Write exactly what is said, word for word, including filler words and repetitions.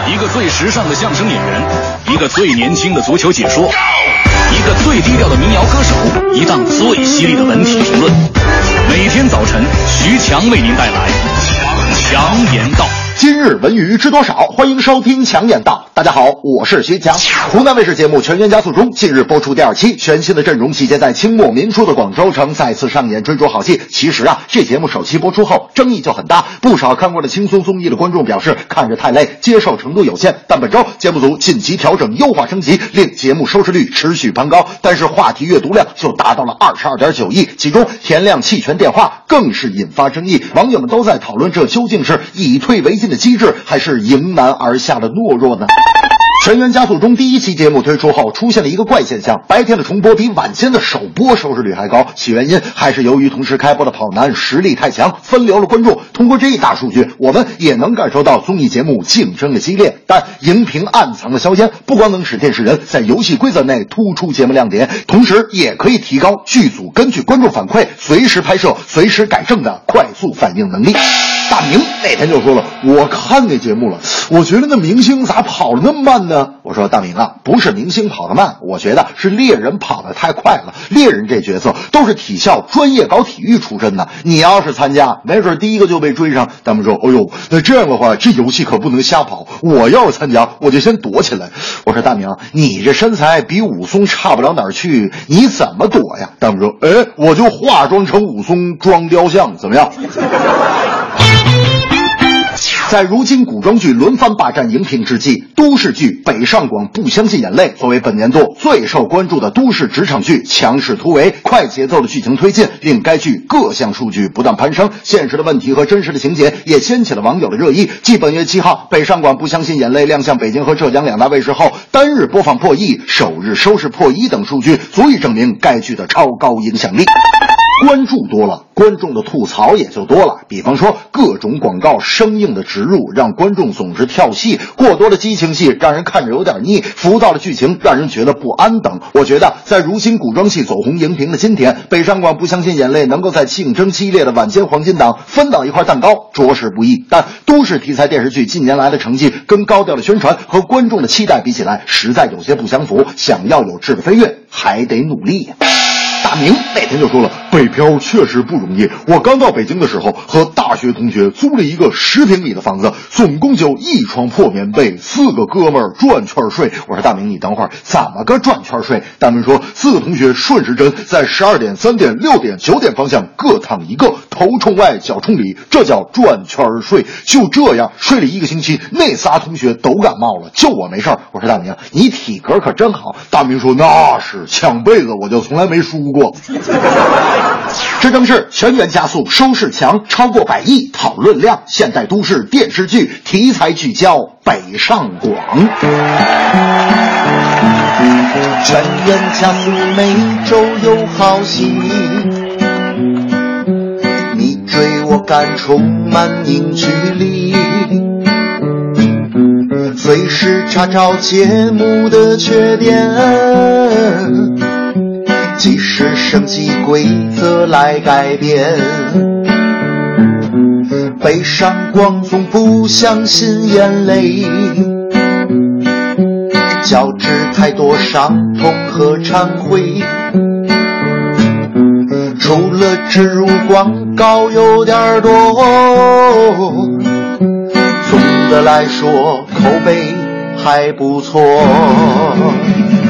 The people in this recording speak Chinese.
一个最时尚的相声演员，一个最年轻的足球解说，一个最低调的民谣歌手，一档最犀利的文体评论。每天早晨，徐强为您带来强言道。 今日文娱知多少？欢迎收听强言道。大家好，我是徐强。湖南卫视节目《全员加速中》近日播出第二期，全新的阵容集结在清末民初的广州城，再次上演追逐好戏。其实啊，这节目首期播出后争议就很大，不少看过的轻松综艺的观众表示看着太累，接受程度有限。但本周节目组紧急调整优化升级，令节目收视率持续攀高，但是话题阅读量就达到了 二十二点九亿，其中田亮弃权电话更是引发争议，网友们都在讨论这究竟是以退为进的机制，还是迎难而下的懦弱呢？全员加速中第一期节目推出后，出现了一个怪现象，白天的重播比晚间的首播收视率还高。其原因还是由于同时开播的跑男实力太强，分流了观众。通过这一大数据，我们也能感受到综艺节目竞争的激烈。但荧屏暗藏的硝烟，不光能使电视人在游戏规则内突出节目亮点，同时也可以提高剧组根据观众反馈随时拍摄、随时改正的快速反应能力。大明那天就说了，我看那节目了，我觉得那明星咋跑得那么慢呢？我说大明啊，不是明星跑得慢，我觉得是猎人跑得太快了。猎人这角色都是体校专业搞体育出身的，你要是参加，没准第一个就被追上。他们说，哎呦，那这样的话，这游戏可不能瞎跑，我要是参加，我就先躲起来。我说大明，你这身材比武松差不了哪儿去，你怎么躲呀？他们说，哎，我就化妆成武松装雕像，怎么样？在如今古装剧轮番霸占荧屏之际，都市剧《北上广不相信眼泪》作为本年度最受关注的都市职场剧，强势突围，快节奏的剧情推进令该剧各项数据不断攀升，现实的问题和真实的情节也掀起了网友的热议。继本月七号《北上广不相信眼泪》亮相北京和浙江两大卫视后，单日播放破亿，首日收视破一等数据，足以证明该剧的超高影响力。关注多了，观众的吐槽也就多了。比方说各种广告生硬的植入，让观众总是跳戏，过多的激情戏让人看着有点腻，浮躁的剧情让人觉得不安等。我觉得在如今古装戏走红荧屏的今天，北上广不相信眼泪能够在竞争激烈的晚间黄金档分到一块蛋糕，着实不易。但都市题材电视剧近年来的成绩跟高调的宣传和观众的期待比起来，实在有些不相符，想要有质的飞跃还得努力呀。大明那天就说了，北漂确实不容易。我刚到北京的时候，和大学同学租了一个十平米的房子，总共就一床破棉被，四个哥们儿转圈睡。我说大明，你等会儿怎么个转圈睡？大明说，四个同学顺时针在十二点、三点、六点、九点方向各躺一个，头冲外，脚冲里，这叫转圈睡。就这样睡了一个星期，那仨同学都感冒了，就我没事儿。我说大明，你体格可真好。大明说，那是抢被子我就从来没输过。这正是全员加速收视强，超过百亿讨论量，现代都市电视剧题材聚焦北上广。 全员加速每周有好戏，你追我赶充满凝聚力，随时查找节目的缺点，及时升级规则来改变。北上广总不相信眼泪，交织太多伤痛和忏悔，除了植入广告有点多，总的来说口碑还不错。